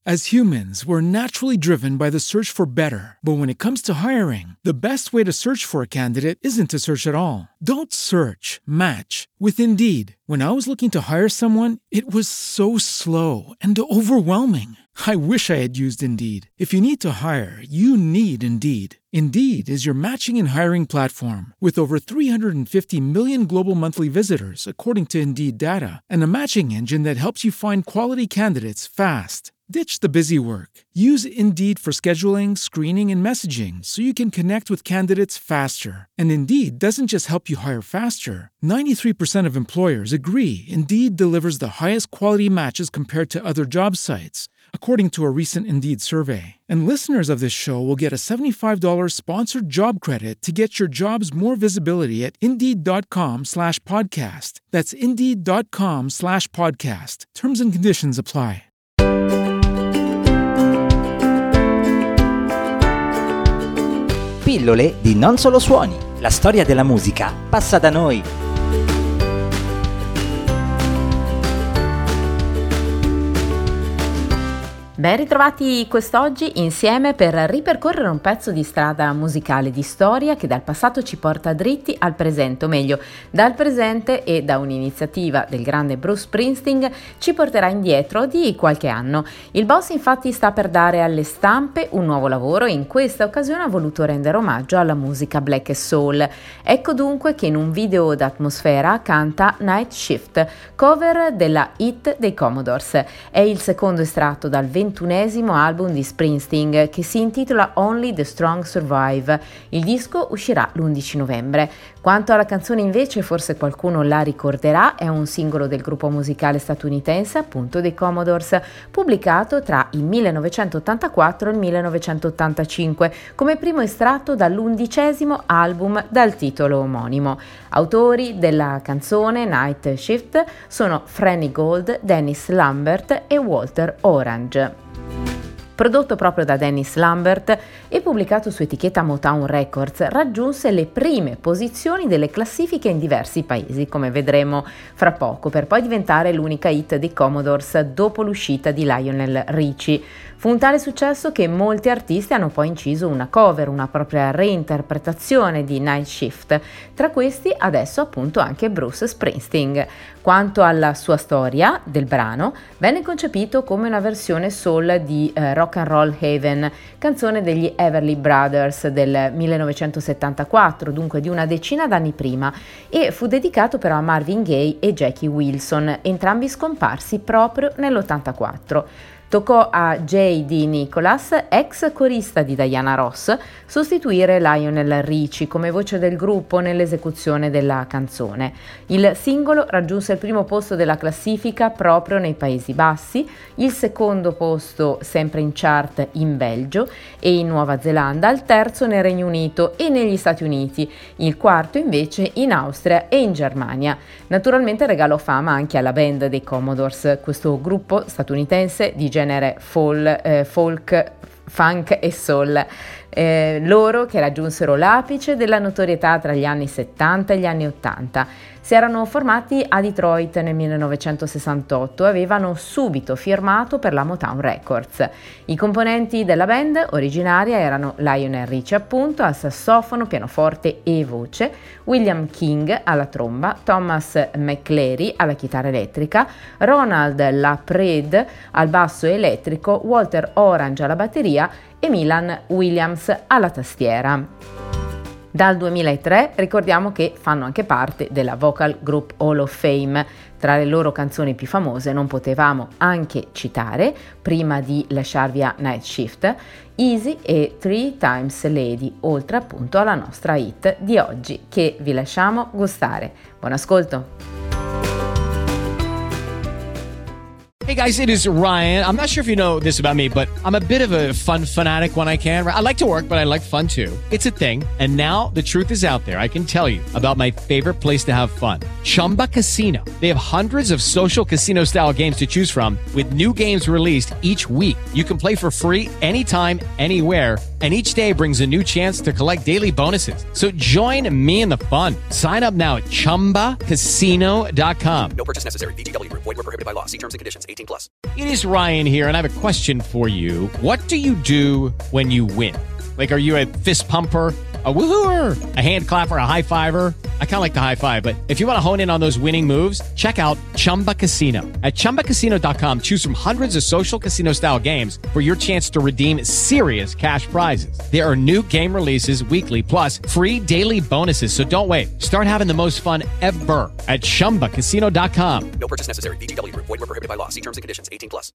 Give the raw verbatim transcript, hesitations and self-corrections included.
As humans, we're naturally driven by the search for better. But when it comes to hiring, the best way to search for a candidate isn't to search at all. Don't search, match with Indeed. When I was looking to hire someone, it was so slow and overwhelming. I wish I had used Indeed. If you need to hire, you need Indeed. Indeed is your matching and hiring platform with over three hundred fifty million global monthly visitors, according to Indeed data, and a matching engine that helps you find quality candidates fast. Ditch the busy work. Use Indeed for scheduling, screening, and messaging so you can connect with candidates faster. And Indeed doesn't just help you hire faster. ninety-three percent of employers agree Indeed delivers the highest quality matches compared to other job sites, according to a recent Indeed survey. And listeners of this show will get a seventy-five dollars sponsored job credit to get your jobs more visibility at Indeed.com slash podcast. That's Indeed.com slash podcast. Terms and conditions apply. Pillole di Non Solo Suoni. La storia della musica passa da noi. Ben ritrovati quest'oggi insieme per ripercorrere un pezzo di strada musicale di storia che dal passato ci porta dritti al presente, o meglio, dal presente e da un'iniziativa del grande Bruce Springsteen ci porterà indietro di qualche anno. Il boss infatti sta per dare alle stampe un nuovo lavoro e in questa occasione ha voluto rendere omaggio alla musica black e soul. Ecco dunque che in un video d'atmosfera canta Night Shift, cover della hit dei Commodores. È il secondo estratto dal ventunesimo album di Springsteen che si intitola Only the Strong Survive. Il disco uscirà l'undici novembre. Quanto alla canzone invece, forse qualcuno la ricorderà, è un singolo del gruppo musicale statunitense appunto dei Commodores, pubblicato tra il millenovecentottantaquattro e il millenovecentottantacinque come primo estratto dall'undicesimo album dal titolo omonimo. Autori della canzone Night Shift sono Franny Gold, Dennis Lambert e Walter Orange. Prodotto proprio da Dennis Lambert e pubblicato su etichetta Motown Records, raggiunse le prime posizioni delle classifiche in diversi paesi, come vedremo fra poco, per poi diventare l'unica hit dei Commodores dopo l'uscita di Lionel Richie. Fu un tale successo che molti artisti hanno poi inciso una cover, una propria reinterpretazione di Night Shift, tra questi adesso appunto anche Bruce Springsteen. Quanto alla sua storia del brano, venne concepito come una versione soul di eh, Rock and Roll Heaven, canzone degli Everly Brothers del millenovecentosettantaquattro, dunque di una decina d'anni prima, e fu dedicato però a Marvin Gaye e Jackie Wilson, entrambi scomparsi proprio nell'ottantaquattro. Toccò a J D. Nicholas, ex corista di Diana Ross, sostituire Lionel Richie come voce del gruppo nell'esecuzione della canzone. Il singolo raggiunse il primo posto della classifica proprio nei Paesi Bassi, il secondo posto sempre in chart in Belgio e in Nuova Zelanda, il terzo nel Regno Unito e negli Stati Uniti, il quarto invece in Austria e in Germania. Naturalmente regalò fama anche alla band dei Commodores, questo gruppo statunitense di genere folk, eh, folk, funk e soul. Eh, loro che raggiunsero l'apice della notorietà tra gli anni settanta e gli anni ottanta. Si erano formati a Detroit nel millenovecentosessantotto e avevano subito firmato per la Motown Records. I componenti della band originaria erano Lionel Richie appunto al sassofono, pianoforte e voce, William King alla tromba, Thomas McCleary alla chitarra elettrica, Ronald LaPrade al basso elettrico, Walter Orange alla batteria e Milan Williams alla tastiera. Dal duemilatré ricordiamo che fanno anche parte della Vocal Group Hall of Fame. Tra le loro canzoni più famose non potevamo anche citare, prima di lasciarvi a Night Shift, Easy e Three Times Lady, oltre appunto alla nostra hit di oggi che vi lasciamo gustare. Buon ascolto! Hey guys, it is Ryan. I'm not sure if you know this about me, but I'm a bit of a fun fanatic when I can. I like to work, but I like fun too. It's a thing. And now the truth is out there. I can tell you about my favorite place to have fun. Chumba Casino. They have hundreds of social casino style games to choose from with new games released each week. You can play for free anytime, anywhere. and each day brings a new chance to collect daily bonuses. So join me in the fun. Sign up now at chumba casino dot com. No purchase necessary. V G W. Void where prohibited by law. See terms and conditions. eighteen plus. It is Ryan here, and I have a question for you. What do you do when you win? Like, are you a fist pumper, a woohooer, a hand clapper, a high fiver? I kind of like the high five, but if you want to hone in on those winning moves, check out Chumba Casino. At chumba casino dot com, choose from hundreds of social casino style games for your chance to redeem serious cash prizes. There are new game releases weekly, plus free daily bonuses. So don't wait. Start having the most fun ever at chumba casino dot com. No purchase necessary. V G W. Void where prohibited by law. See terms and conditions. eighteen plus.